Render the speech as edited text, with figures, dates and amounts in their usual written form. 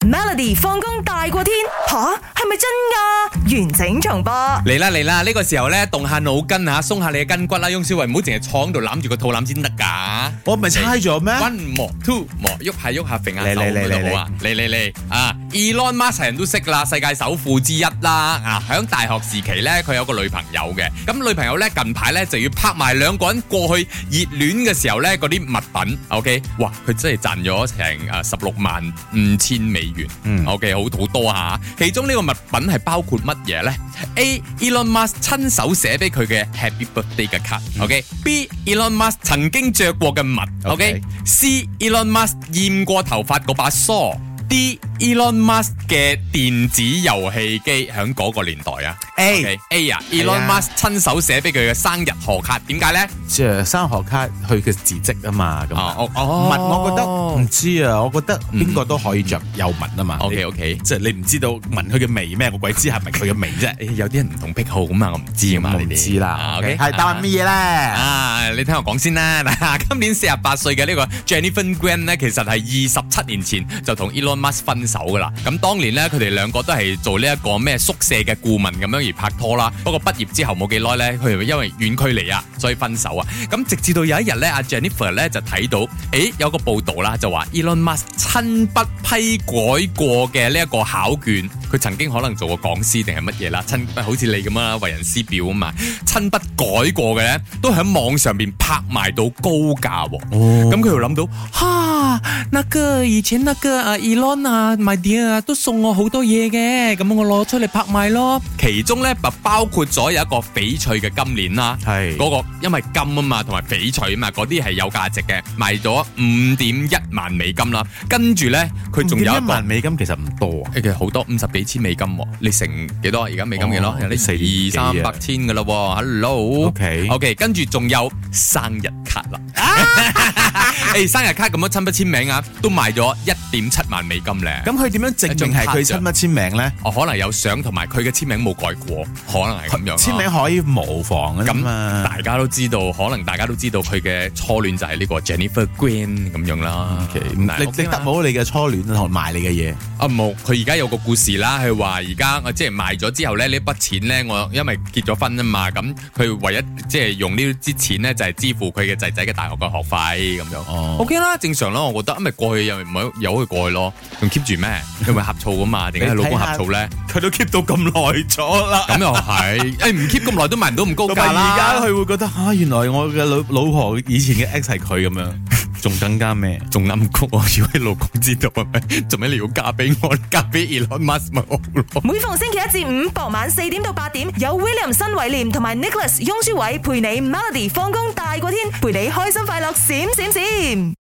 Melody 放工大過天吓，係咪真㗎？完整重播嚟啦嚟啦！呢個時候咧，動下腦筋吓，鬆下你嘅筋骨啦。翁小慧唔好淨係坐喺度攬住個肚腩先得噶。 我唔係猜咗咩 ？One more two more，喐下喐下，揈下手嚟咁好啊！嚟啊 ！Elon Musk 人都識啦，世界首富之一啦。啊，喺大學時期咧，佢有個女朋友嘅。咁女朋友咧近排咧就要拍埋兩個人過去熱戀嘅時候咧嗰啲物品。OK， 哇！佢真係賺咗成16.5千美元。OK， 好多下。其中呢個物品係包括乜嘢咧 ？A. Elon Musk 親手寫俾佢嘅 Happy Birthday 嘅卡。OK。B. Elon Musk 曾經着過嘅襪。OK。C. Elon Musk 染過頭髮嗰把梳。D. Elon Musk 嘅電子遊戲機喺嗰個年代啊。A 啊 ，Elon Musk 親手寫俾佢嘅生日賀卡，點解咧？ 即係生日賀卡，佢嘅字跡啊嘛。咁襪我覺得唔知啊，我覺得邊個都可以着有襪啊嘛。 OK， 即係你唔知道聞佢嘅味咩？我鬼知係咪佢嘅味啫？ 有啲人唔同癖好咁嘛，我唔知啊嘛。 我唔知啦。 OK， 係答案乜嘢咧？ 啊，你聽我講先啦。今年48歲嘅呢個 Jennifer Graham 咧，其實係27年前就同 Elon Musk 分手噶啦。咁當年咧，佢哋兩個都係做呢一個咩宿舍嘅顧問咁樣而拍拖啦。不過畢業之後冇幾耐咧，佢哋因為遠距離啊，所以分手啊。咁直至到有一日咧，阿 Jennifer 咧就睇到，有個報道啦，就話 Elon Musk 親筆批改過嘅呢一個考卷，佢曾經可能做過講師定係乜嘢啦，親筆好似你咁啊，為人師表啊嘛，親筆改過嘅咧，都喺網上邊拍賣到高價。咁佢又諗到，那個以前那個Elon my dear 都送我好多嘢嘅，咁我攞出嚟拍賣咯。其中咧包括咗有一個翡翠嘅金鏈啦，係嗰個因為金啊嘛，同埋翡翠啊嘛，嗰啲係有價值嘅，賣咗5.1萬美金啦。跟住咧，佢仲有一 1萬美金其實唔多啊， 其實好多50幾千美金，你乘幾多？而家美金幾多？有啲200-300千噶啦。Hello，OK， 跟住仲有生日卡啦。生日卡咁樣親筆簽名啊，都賣咗1.7萬美金咧。 咁佢點樣證明係佢親筆簽名咧？ 可能有相同埋佢嘅簽名冇改過，可能係咁樣。簽名可以模仿啊嘛。 大家都知道，可能大家都知道佢嘅初戀就係呢個 Jennifer Graham 咁樣啦。 你得冇你嘅初戀同埋你嘅嘢？ 冇，佢而家有個故事啦，佢話而家即係賣咗之後咧，呢筆錢咧，我因為結咗婚啊嘛，咁佢唯一即係用呢啲錢咧，就係支付佢嘅仔仔嘅大學嘅學費咁樣。OK 啦，正常啦，我覺得，咪過去又唔係由佢過去咯，仲 keep 住咩？佢咪呷醋噶嘛？點解佢老公呷醋咧？ 佢都 keep 到咁耐咗啦。 咁又係，唔 keep 咁耐都賣唔到咁高價啦。 而家佢會覺得原來我嘅老婆以前嘅 ex 係佢咁樣，仲更加咩？仲諗谷我，如果你老公知道係咪？做咩你要嫁俾我？嫁俾 Elon Musk 咪好咯？ 每逢星期一至五傍晚4點到8點，有 William 新偉廉同埋 Nicholas 雍舒偉陪你 Melody 放工大過天，陪你開心快樂閃閃閃。